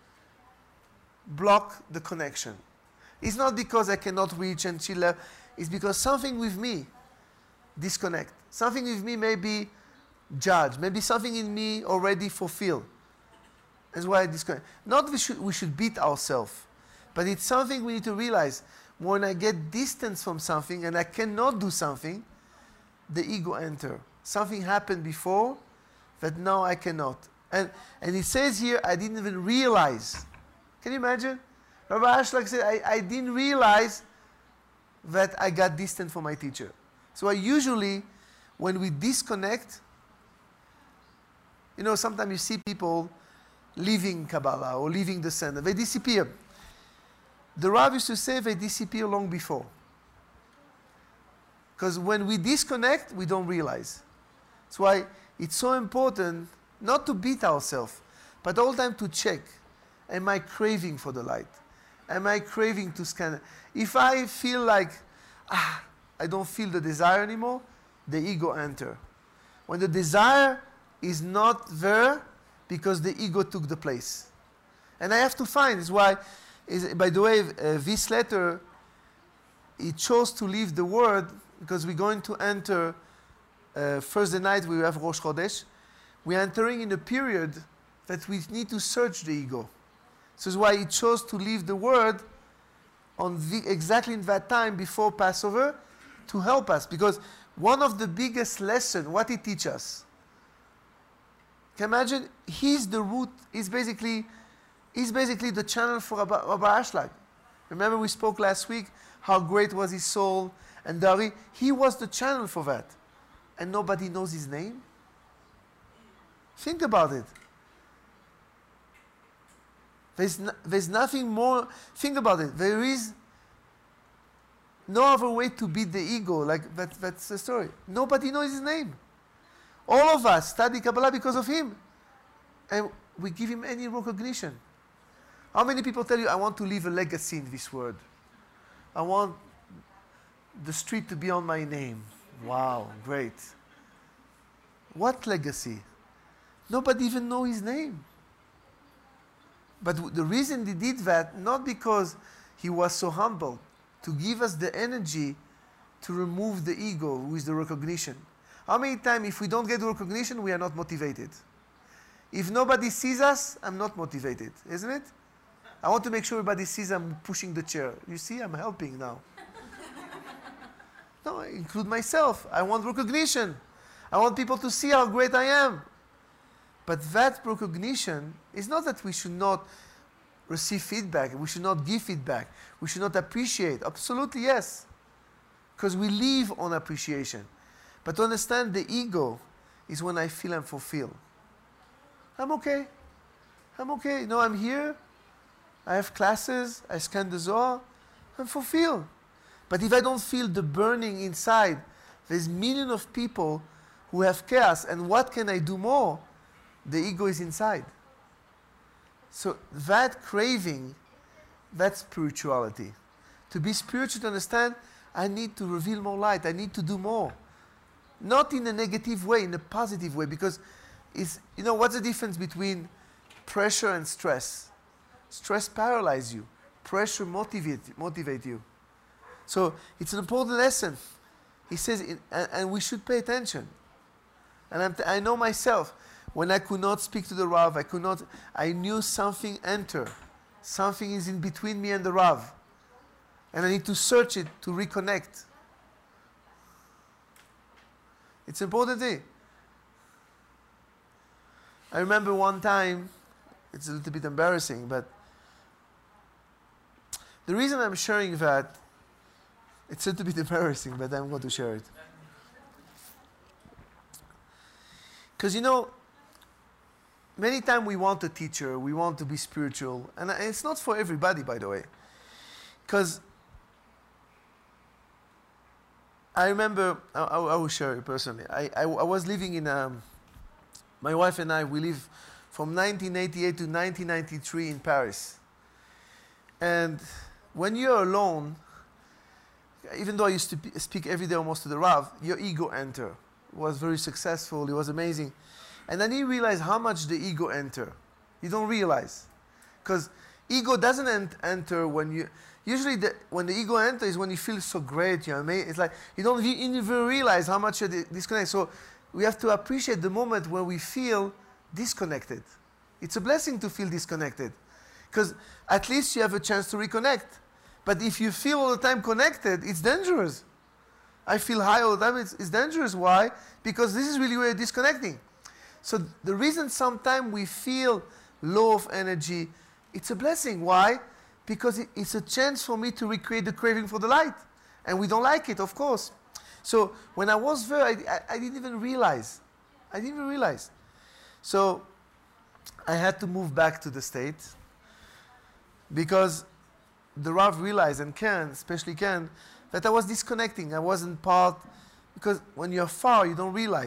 block the connection. It's not because I cannot reach and she left. It's because something with me disconnect. Something with me may be judged. Maybe something in me already fulfilled. That's why I disconnect. Not we should, we should beat ourselves. But it's something we need to realize. When I get distance from something and I cannot do something, the ego enter. Something happened before that now I cannot. And, and it says here, I didn't even realize. Can you imagine? Rabbi Ashlag said, I, I didn't realize that I got distant from my teacher. So I usually, when we disconnect, you know, sometimes you see people leaving Kabbalah or leaving the center. They disappear. The Rav used to say they disappear long before. Because when we disconnect, we don't realize. That's why it's so important not to beat ourselves, but all the time to check, am I craving for the light? Am I craving to scan? If I feel like, ah, I don't feel the desire anymore, the ego enter. When the desire is not there, because the ego took the place. And I have to find, is why, is, by the way, uh, this letter, he chose to leave the word, because we're going to enter, uh, Thursday night we have Rosh Chodesh, we're entering in a period that we need to search the ego. This is why he chose to leave the word on the, exactly in that time before Passover to help us. Because one of the biggest lessons, what he teaches us, can you imagine, he's the root, he's basically, he's basically the channel for Rabbi, Rabbi Ashlag. Remember we spoke last week how great was his soul and Dari. He was the channel for that. And nobody knows his name? Think about it. There's, no, there's nothing more, think about it. There is no other way to beat the ego, like that, that's the story. Nobody knows his name. All of us study Kabbalah because of him. And we give him any recognition. How many people tell you, I want to leave a legacy in this world? I want the street to be on my name. Wow, great. What legacy? Nobody even knows his name. But w- the reason he did that, not because he was so humble, to give us the energy to remove the ego, who is the recognition. How many times, if we don't get the recognition, we are not motivated? If nobody sees us, I'm not motivated, isn't it? I want to make sure everybody sees I'm pushing the chair. You see, I'm helping now. No, I include myself. I want recognition. I want people to see how great I am. But that recognition is not that we should not receive feedback. We should not give feedback. We should not appreciate. Absolutely, yes. Because we live on appreciation. But to understand the ego is when I feel I'm fulfilled. I'm okay. I'm okay. No, I'm here. I have classes. I scan the Zohar. I'm fulfilled. But if I don't feel the burning inside, there's millions of people who have chaos. And what can I do more? The ego is inside. So that craving, that's spirituality. To be spiritual, to understand, I need to reveal more light. I need to do more. Not in a negative way, in a positive way. Because, it's, you know, what's the difference between pressure and stress? Stress paralyzes you. Pressure motivate, motivate you. So it's an important lesson. He says, and, and we should pay attention. And I'm t- I know myself, when I could not speak to the Rav, I could not, I knew something enter. Something is in between me and the Rav. And I need to search it to reconnect. It's an important thing. I remember one time, it's a little bit embarrassing, but the reason I'm sharing that, it's a little bit embarrassing, but I'm going to share it. Because, you know, many times we want a teacher, we want to be spiritual, and it's not for everybody, by the way. Because I remember, I, I will share it personally. I, I, I was living in, um, my wife and I, we lived from nineteen eighty-eight to nineteen ninety-three in Paris. And when you're alone, even though I used to p- speak every day almost to the Rav, your ego enter. It was very successful, it was amazing. And then you realize how much the ego enter. You don't realize. Because ego doesn't ent- enter when you, usually the, when the ego enters is when you feel so great, you know what I mean? It's like you don't you even realize how much you're di- disconnected. So we have to appreciate the moment where we feel disconnected. It's a blessing to feel disconnected. Because at least you have a chance to reconnect. But if you feel all the time connected, it's dangerous. I feel high all the time, it's, it's dangerous. Why? Because this is really where you're disconnecting. So the reason sometimes we feel low of energy, it's a blessing. Why? Because it, it's a chance for me to recreate the craving for the light. And we don't like it, of course. So when I was there, I, I, I didn't even realize. I didn't even realize. So I had to move back to the States because the Rav realized, and Ken, especially Ken, that I was disconnecting. I wasn't part, because when you're far, you don't realize.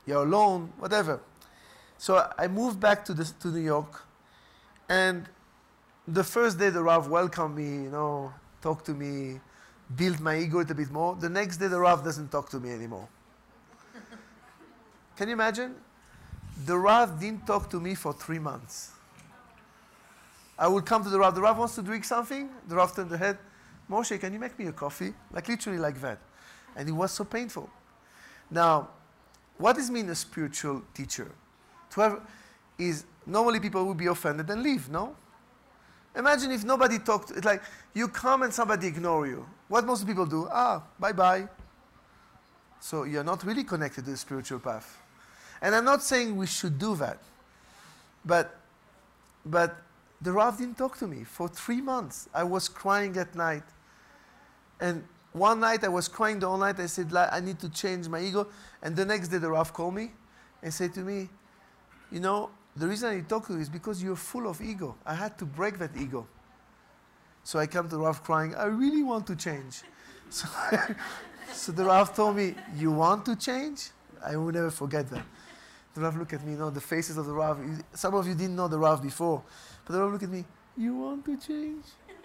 you're alone, whatever. So I moved back to, this, to New York, and the first day the Rav welcomed me, you know, talked to me, built my ego a little bit more. The next day the Rav doesn't talk to me anymore. Can you imagine? The Rav didn't talk to me for three months. I would come to the Rav. The Rav wants to drink something. The Rav turned the head. Moshe, can you make me a coffee? Like literally like that. And it was so painful. Now, what does mean a spiritual teacher? To have is normally people would be offended and leave, no? Imagine if nobody talked. It's like you come and somebody ignore you. What most people do? Ah, bye-bye. So you're not really connected to the spiritual path. And I'm not saying we should do that. But, but the Rav didn't talk to me for three months. I was crying at night. And one night I was crying the whole night. I said, I need to change my ego. And the next day the Rav called me and said to me, you know, the reason I talk to you is because you're full of ego. I had to break that ego. So I come to the Rav crying, I really want to change. So, so the Rav told me, you want to change? I will never forget that. The Rav looked at me, you know, the faces of the Rav. Some of you didn't know the Rav before. But the Rav looked at me, you want to change?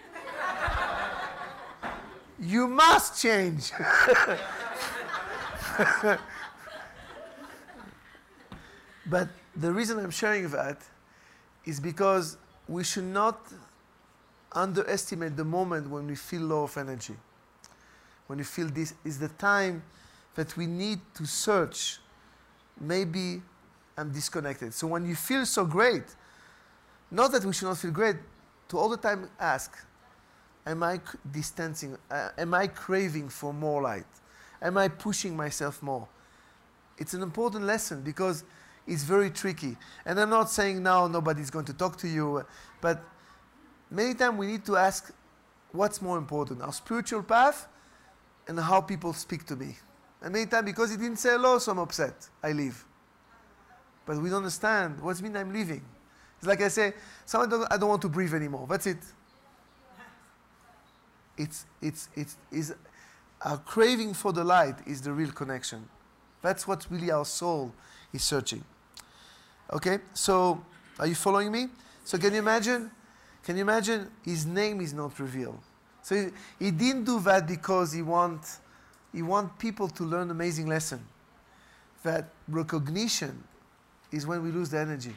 You must change. But the reason I'm sharing that is because we should not underestimate the moment when we feel low of energy. When we feel this is the time that we need to search. Maybe I'm disconnected. So when you feel so great, not that we should not feel great, to all the time ask, am I distancing? Uh, am I craving for more light? Am I pushing myself more? It's an important lesson because it's very tricky. And I'm not saying now nobody's going to talk to you, but many times we need to ask what's more important, our spiritual path and how people speak to me. And many times because he didn't say hello, so I'm upset. I leave. But we don't understand what it means I'm leaving. It's like I say, someone don't, I don't want to breathe anymore. That's it. It's, it's, it's, it's, our craving for the light is the real connection. That's what really our soul is searching. Okay, so are you following me? So can you imagine? Can you imagine his name is not revealed? So he, he didn't do that because he want, he want people to learn an amazing lesson. That recognition is when we lose the energy.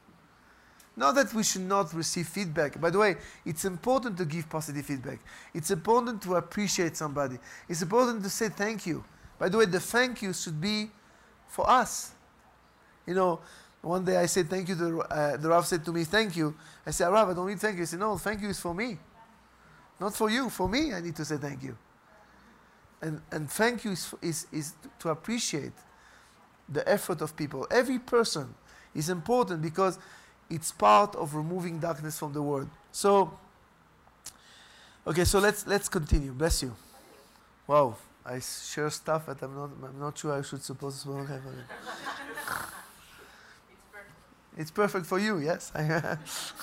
Not that we should not receive feedback. By the way, it's important to give positive feedback. It's important to appreciate somebody. It's important to say thank you. By the way, the thank you should be for us. You know, one day I said thank you. The, uh, the Rav said to me, thank you. I said, Rav, I don't need thank you. He said, no, thank you is for me. Not for you. For me, I need to say thank you. And, and thank you is, is, is to appreciate the effort of people. Every person is important because it's part of removing darkness from the world. So, okay, so let's let's continue. Bless you. Wow, I share stuff that I'm not I'm not sure I should suppose. Okay, it's perfect. It's perfect for you, yes. Okay.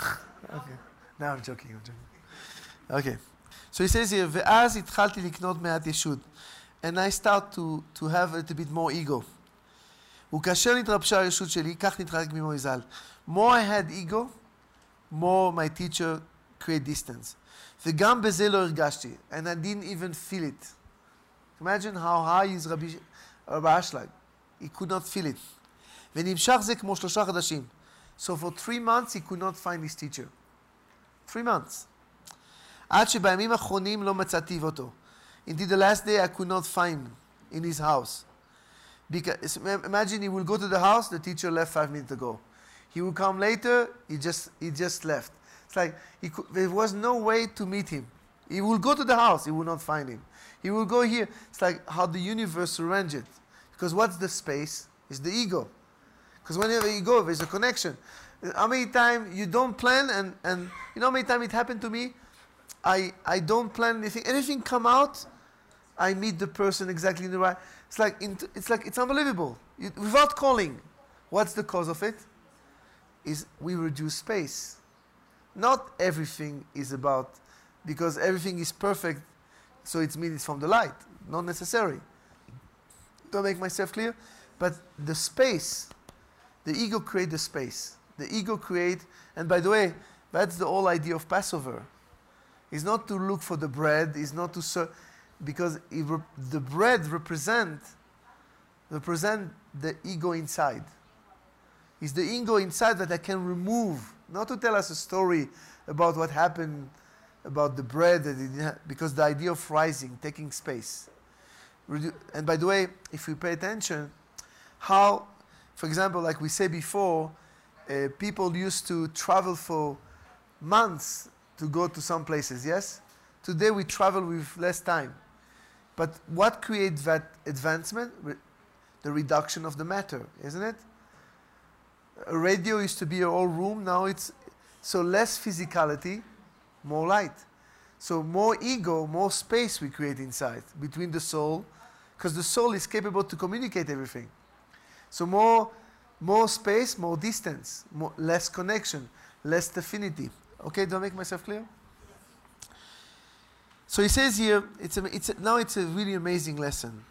No, I'm joking. I'm joking. Okay. So he says here, ואז התחלתי לקנות מעט ישות, and I start to to have a little bit more ego. וכאשר נתרבשה הישות שלי, כך נתרחק ממנו ז"ל. More I had ego, more my teacher create distance. וגם בזה לא הרגשתי, and I didn't even feel it. Imagine how high is Rabbi, Rabbi Ashlag. He could not feel it. ונמשך זה כמו שלושה חודשים. So for three months he could not find his teacher. Three months. עד שבימים האחרונים לא מצאתי אותו. Indeed the last day I could not find him in his house. Because imagine he will go to the house, the teacher left five minutes ago. He will come later, he just he just left. It's like he could, there was no way to meet him. He will go to the house, he will not find him. He will go here. It's like how the universe arranged it. Because what's the space? It's the ego. Because whenever you go, there's a connection. How many times you don't plan and, and you know how many times it happened to me? I, I don't plan anything. Anything come out, I meet the person exactly in the right. It's like it's like it's unbelievable. You, without calling, what's the cause of it? Is we reduce space. Not everything is about because everything is perfect, so it means it's from the light. Not necessary. Do I make myself clear? But the space, the ego create the space. The ego create, and by the way, that's the whole idea of Passover. It's not to look for the bread, it's not to serve, because it rep- the bread represent, represent the ego inside. It's the ego inside that I can remove, not to tell us a story about what happened, about the bread, that it ha- because the idea of rising, taking space. Redu- and by the way, if we pay attention, how, for example, like we said before, uh, people used to travel for months to go to some places, yes? Today we travel with less time. But what creates that advancement? Re- the reduction of the matter, isn't it? A radio used to be a whole room, now it's, so less physicality, more light. So more ego, more space we create inside, between the soul, because the soul is capable to communicate everything. So more, more space, more distance, more, less connection, less affinity. Okay, do I make myself clear? So he says here, it's a, it's a, now it's a really amazing lesson.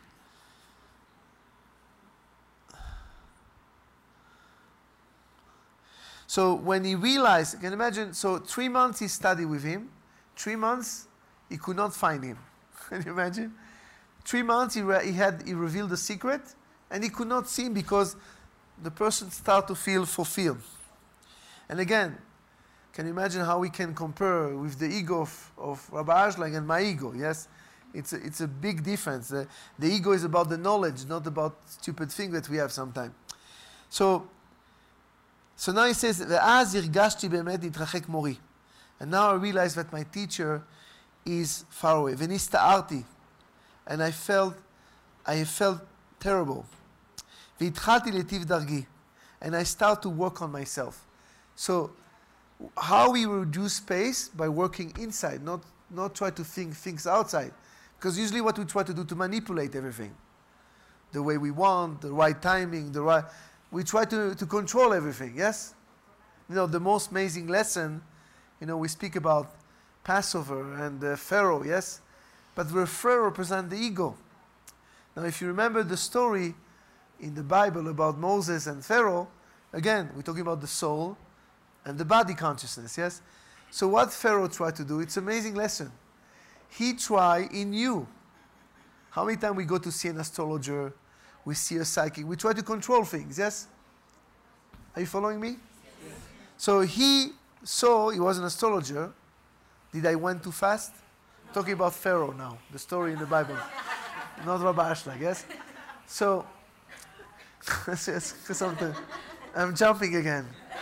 So when he realized, you can imagine, so three months he studied with him, three months he could not find him. Can you imagine? Three months he, re- he had he revealed the secret, and he could not see him because the person started to feel fulfilled. And again, can you imagine how we can compare with the ego of, of Rabbi Ashlag and my ego? Yes, it's a, it's a big difference. The, the ego is about the knowledge, not about stupid thing that we have sometimes. So. So now he says, ואז הרגשתי באמת להתרחק מורי. And now I realize that my teacher is far away. ונסתערתי. And I felt, I felt terrible. והתחלתי להיטיב דרכי. And I start to work on myself. So how we reduce space? By working inside, not, not try to think things outside. Because usually what we try to do to manipulate everything. The way we want, the right timing, the right... We try to, to control everything, yes? You know, the most amazing lesson, you know, we speak about Passover and uh, Pharaoh, yes? But the Pharaoh represents the ego. Now, if you remember the story in the Bible about Moses and Pharaoh, again, we're talking about the soul and the body consciousness, yes? So what Pharaoh tried to do, it's an amazing lesson. He tried in you. How many times we go to see an astrologer, we see a psychic, we try to control things, yes? Are you following me? Yes. So he saw, he was an astrologer. Did I went too fast? Talking about Pharaoh now, the story in the Bible. Not Rabbi Ashlag, yes? So, something. I'm jumping again.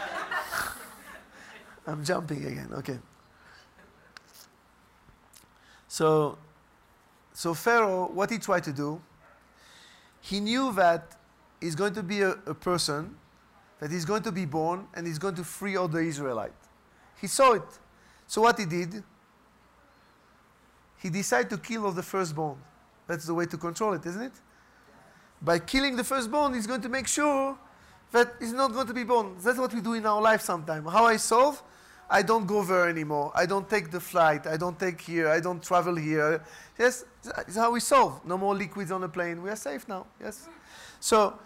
I'm jumping again, okay. So, so Pharaoh, what he tried to do, he knew that he's going to be a, a person, that he's going to be born, and he's going to free all the Israelites. He saw it. So what he did, he decided to kill all the firstborn. That's the way to control it, isn't it? By killing the firstborn, he's going to make sure that he's not going to be born. That's what we do in our life sometimes. How I solve? I don't go there anymore. I don't take the flight. I don't take here. I don't travel here. Yes, it's how we solve. No more liquids on the plane. We are safe now. Yes. So,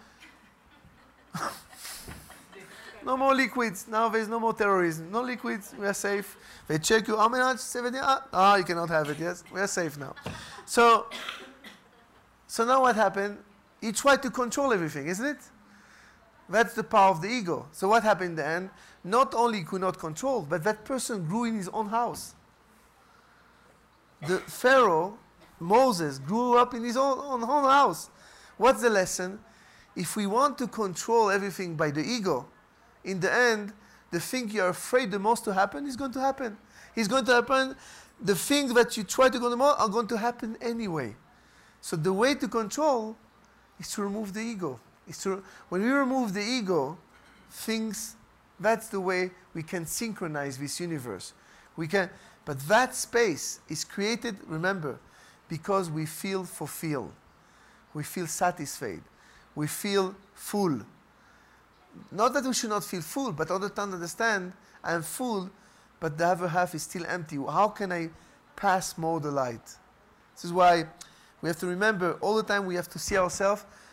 no more liquids. Now there's no more terrorism. No liquids. We are safe. They check you. How many? seventy? Ah, you cannot have it. Yes, we are safe now. So, so now what happened? He tried to control everything, isn't it? That's the power of the ego. So what happened in the end? Not only he could not control, but that person grew in his own house. The Pharaoh, Moses, grew up in his own, own, own house. What's the lesson? If we want to control everything by the ego, in the end, the thing you're afraid the most to happen is going to happen. It's going to happen. The things that you try to control the most are going to happen anyway. So the way to control is to remove the ego. Is to, when we remove the ego, things, that's the way we can synchronize this universe. We can, but that space is created, remember, because we feel fulfilled. We feel satisfied. We feel full. Not that we should not feel full, but all the time understand, I am full, but the other half is still empty. How can I pass more the light? This is why we have to remember all the time we have to see ourselves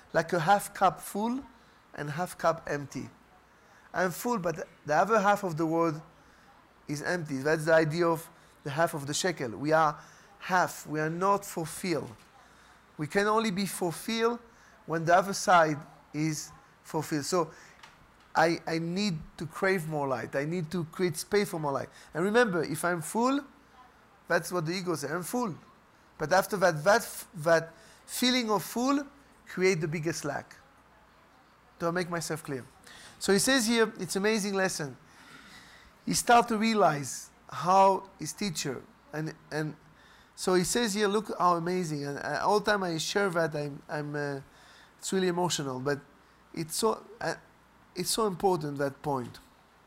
like a half cup full and half cup empty. I'm full, but the other half of the world is empty. That's the idea of the half of the shekel. We are half. We are not fulfilled. We can only be fulfilled when the other side is fulfilled. So I, I need to crave more light. I need to create space for more light. And remember, if I'm full, that's what the ego says. I'm full. But after that, that, that feeling of full create the biggest lack. Do I make myself clear? So he says here, it's an amazing lesson. He starts to realize how his teacher, and, and so he says here, look how amazing. And uh, all the time I share that, I'm, I'm uh, it's really emotional, but it's so, uh, it's so important, that point.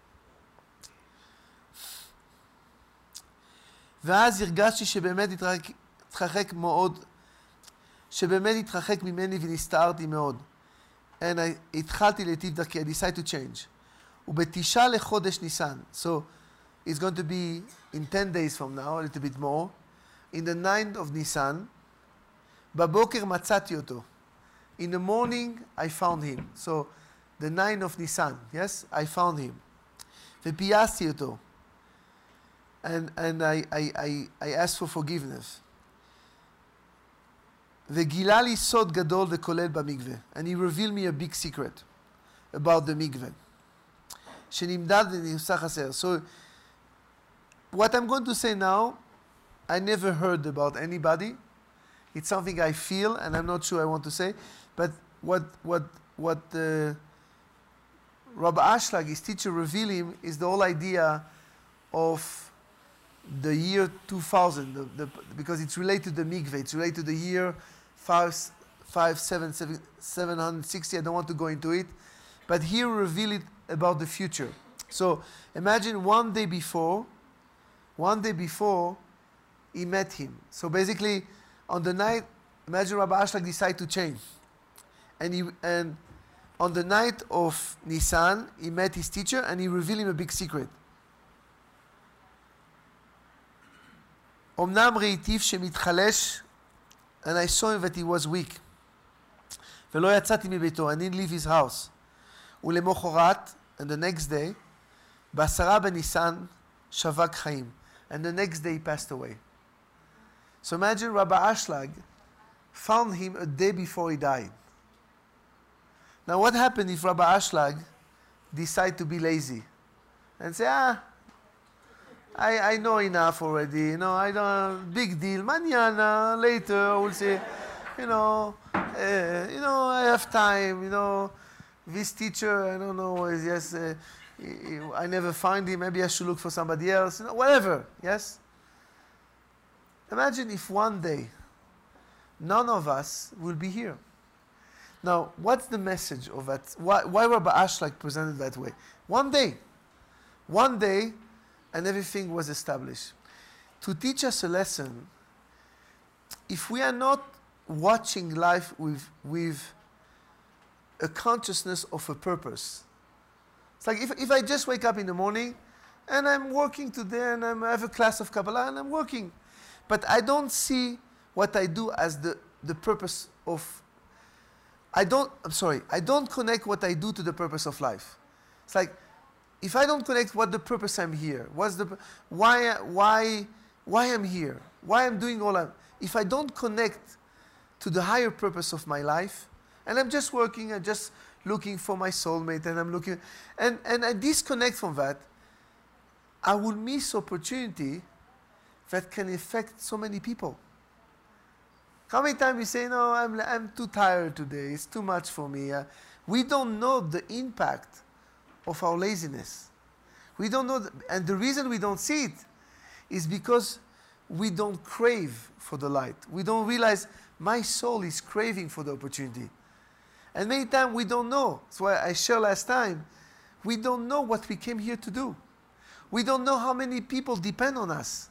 ואז הרגשתי שבאמת התרחק מאוד, שבאמת התרחק ממני ונסתערתי מאוד. And I, התחלתי להיטיב דרכי, I decided to change. ובתשעה לחודש ניסן, so it's going to be in ten days from now, a little bit more, in the ninth of Nisan, בבוקר מצאתי אותו. In the morning, I found him. So, the ninth of Nisan, yes, I found him. ופייסתי אותו. And, and I, I, I, I asked for forgiveness. וגילה לי סוד גדול וכולל במקווה. And he revealed me a big secret about the מקווה. שנמדד ונמסך חסר. So, what I'm going to say now, I never heard about anybody. It's something I feel, and I'm not sure I want to say. But what what what uh, Rabbi Ashlag, his teacher, revealed him is the whole idea of the year two thousand, the, the, because it's related to the mikveh. It's related to the year five, five, seven, seven, seven hundred sixty. I don't want to go into it, but here reveal it about the future. So imagine one day before, one day before, he met him. So basically, on the night, imagine Rabbi Ashlag decided to change. And, he, and on the night of Nisan, he met his teacher and he revealed him a big secret. אמנם ראיתיו שמתחלש, and I saw him that he was weak. ולא יצאתי מביתו, I didn't leave his house. ולמחרת, and the next day, בעשרה בניסן, שבק חיים. And the next day he passed away. So imagine Rabbi Ashlag found him a day before he died. Now what happened if Rabbi Ashlag decided to be lazy and say, ah, I, I know enough already, you know, I don't, big deal, mañana, later, we'll say, you know, uh, you know, I have time, you know, this teacher, I don't know, is yes, uh, I never find him, maybe I should look for somebody else, you know, whatever, yes? Imagine if one day, none of us will be here. Now, what's the message of that? Why, why Rabbi Ashlag presented that way? One day, one day, and everything was established. To teach us a lesson, if we are not watching life with, with a consciousness of a purpose. It's like if, if I just wake up in the morning and I'm working today and I'm, I have a class of Kabbalah and I'm working, but I don't see what I do as the, the purpose of, I don't, I'm sorry, I don't connect what I do to the purpose of life. It's like, if I don't connect what the purpose I'm here, what's the, why, why, why I'm here, why I'm doing all I'm, if I don't connect to the higher purpose of my life, and I'm just working, I'm just looking for my soulmate, and I'm looking, and, and I disconnect from that, I will miss opportunity that can affect so many people. How many times we say, no, I'm, I'm too tired today, it's too much for me. Uh, we don't know the impact of our laziness. We don't know, the, and the reason we don't see it is because we don't crave for the light. We don't realize my soul is craving for the opportunity. And many times we don't know. That's why I shared last time, we don't know what we came here to do. We don't know how many people depend on us.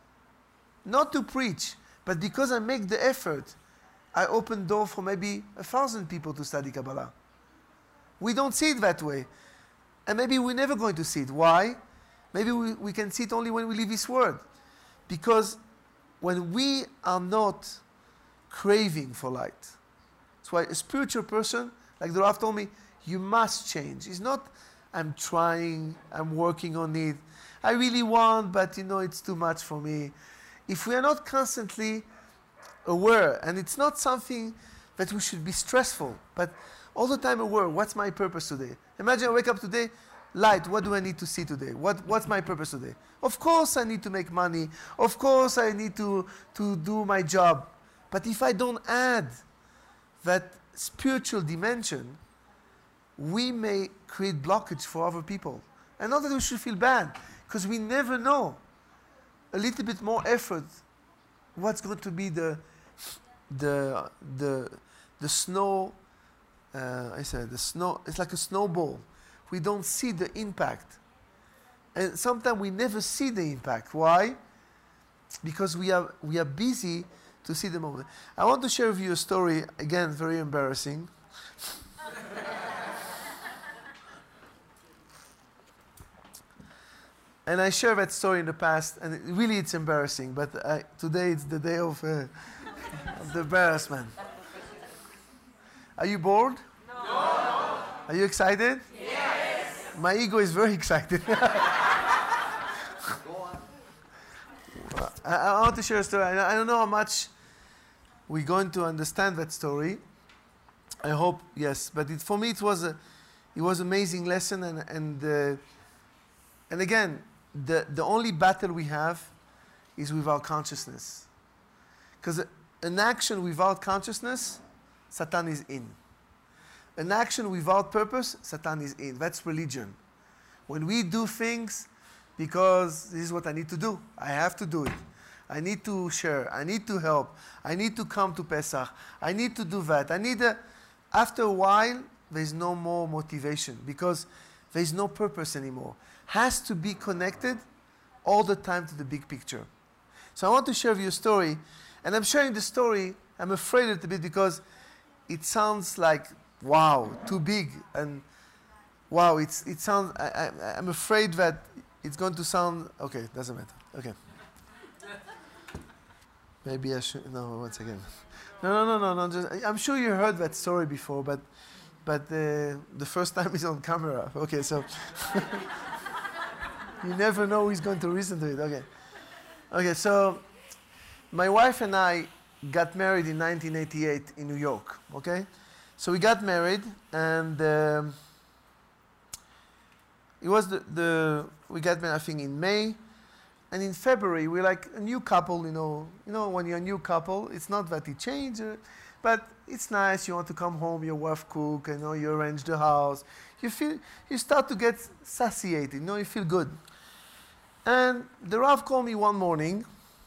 Not to preach, but because I make the effort, I open door for maybe a thousand people to study Kabbalah. We don't see it that way. And maybe we're never going to see it. Why? Maybe we, we can see it only when we leave this world. Because when we are not craving for light, that's That's why a spiritual person, like the Rav told me, you must change. It's not, I'm trying, I'm working on it. I really want, but you know, it's too much for me. If we are not constantly aware, and it's not something that we should be stressful, but all the time aware, what's my purpose today? Imagine I wake up today, light, what do I need to see today? What, what's my purpose today? Of course I need to make money. Of course I need to, to do my job. But if I don't add that spiritual dimension, we may create blockage for other people. And not that we should feel bad, because we never know. A little bit more effort, what's going to be the, the, the, the snow, uh, I said, the snow, it's like a snowball. We don't see the impact. And sometimes we never see the impact. Why? Because we are, we are busy to see the moment. I want to share with you a story, again, very embarrassing. And I shared that story in the past, and it, really it's embarrassing, but I, today it's the day of, uh, of the embarrassment. Are you bored? No. Are you excited? Yes. My ego is very excited. I, I want to share a story. I, I don't know how much we're going to understand that story. I hope, yes. But it, for me, it was a, it was an amazing lesson, and and uh, and again, the the only battle we have is with our consciousness. Because an action without consciousness, Satan is in. An action without purpose, Satan is in. That's religion. When we do things because this is what I need to do, I have to do it. I need to share. I need to help. I need to come to Pesach. I need to do that. I need a, after a while, there's no more motivation because there's no purpose anymore. Has to be connected all the time to the big picture. So I want to share with you a story, and I'm sharing the story, I'm afraid a little bit because it sounds like, wow, too big, and wow, it's, it sounds, I, I, I'm afraid that it's going to sound, okay, doesn't matter, okay. Maybe I should, no, once again. No, no, no, no, no, just, I'm sure you heard that story before, but, but uh, the first time is on camera, okay, so. You never know who's going to listen to it, okay. Okay, so my wife and I got married in nineteen eighty-eight in New York, okay? So we got married, and um, it was the, the, we got married, I think, in May, and in February, we're like a new couple, you know, you know, when you're a new couple, it's not that it changed, uh, but it's nice, you want to come home, your wife cook, you know, you arrange the house, you feel, you start to get satiated, you know, you feel good. And the Rav called me one morning,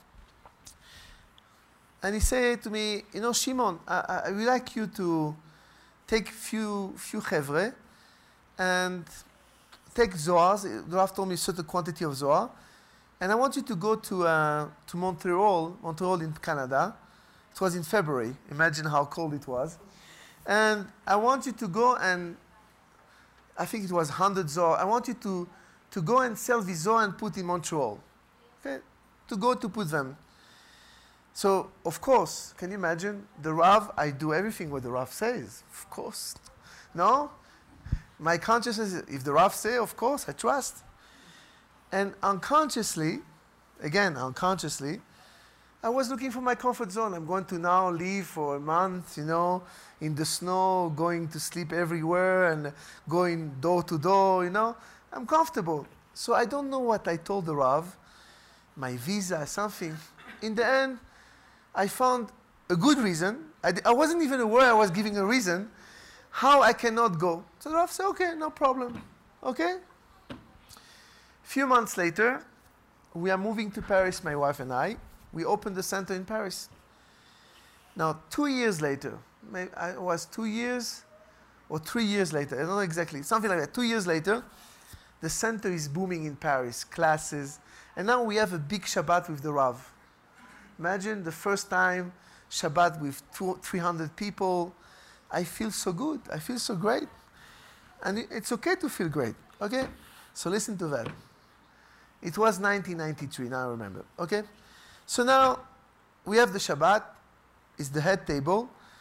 and he said to me, you know, Shimon, I, I would like you to take few few chevre and take Zohar. The Rav told me a certain quantity of Zohar, and I want you to go to uh, to Montreal, Montreal in Canada. It was in February. Imagine how cold it was. And I want you to go and, I think it was one hundred Zohar. I want you to, to go and sell the Zohar and put in Montreal. Okay? To go to put them. So, of course, can you imagine? The Rav, I do everything what the Rav says. Of course. No? My consciousness, if the Rav say, of course, I trust. And unconsciously, again, unconsciously, I was looking for my comfort zone. I'm going to now leave for a month, you know, in the snow, going to sleep everywhere and going door to door, you know. I'm comfortable. So I don't know what I told the Rav, my visa, something. In the end, I found a good reason. I, d- I wasn't even aware I was giving a reason how I cannot go. So the Rav said, okay, no problem. Okay? A few months later, we are moving to Paris, my wife and I. We opened the center in Paris. Now, two years later, maybe I was two years or three years later, I don't know exactly, something like that. Two years later, the center is booming in Paris, classes, and now we have a big Shabbat with the Rav. Imagine the first time Shabbat with two, three hundred people. I feel so good. I feel so great. And it, it's okay to feel great. Okay? So listen to that. It was nineteen ninety-three, now I remember. Okay? So now we have the Shabbat. It's the head table.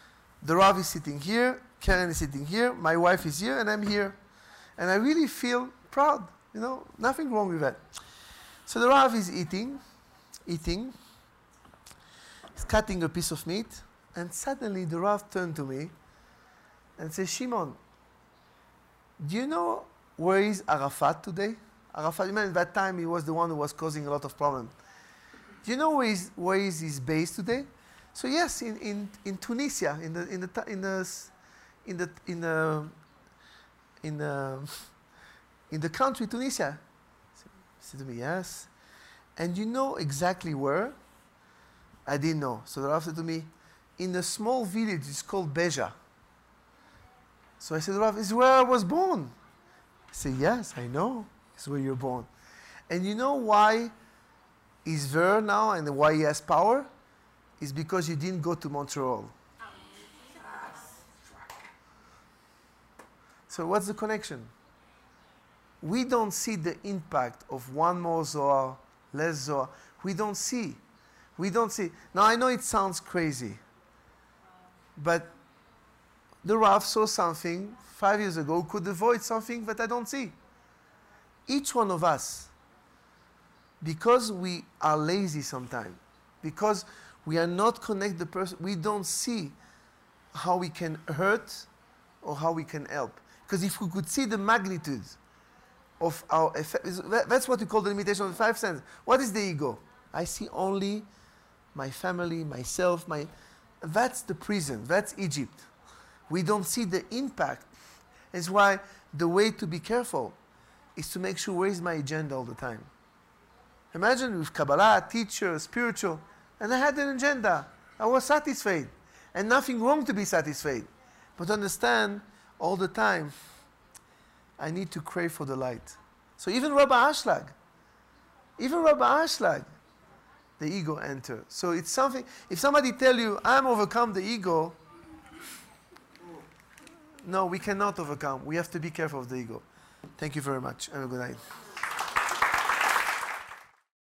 the Rav is sitting here, Karen is sitting here, my wife is here, and I'm here. And I really feel proud, you know, nothing wrong with that. So the Rav is eating, eating, he's cutting a piece of meat, and suddenly the Rav turned to me and said, Shimon, do you know where is Arafat today? Arafat, you know, at that time he was the one who was causing a lot of problems. Do you know where is, where is his base today? So yes, in, in, in Tunisia, in the in the in the in the in the in the, in the country Tunisia. He said to me, yes. And you know exactly where? I didn't know. So the Rav said to me, in a small village, it's called Beja. So I said, Rav, is where I was born. He said, yes, I know. It's where you're born. And you know why he's there now and why he has power? Is because you didn't go to Montreal. So what's the connection? We don't see the impact of one more Zohar, less Zohar. We don't see. We don't see. Now I know it sounds crazy, but the Rav saw something five years ago, could avoid something that I don't see. Each one of us, because we are lazy sometimes, because we are not connected the person, we don't see how we can hurt or how we can help. Because if we could see the magnitude of our effect, that's what we call the limitation of the five senses. What is the ego? I see only my family, myself, my, that's the prison, that's Egypt. We don't see the impact. That's why the way to be careful is to make sure where is my agenda all the time. Imagine with Kabbalah, teacher, spiritual, and I had an agenda. I was satisfied. And nothing wrong to be satisfied. But understand, all the time, I need to crave for the light. So even Rabbi Ashlag, even Rabbi Ashlag, the ego enters. So it's something, if somebody tell you, I'm overcome the ego, no, we cannot overcome. We have to be careful of the ego. Thank you very much. Have a good night.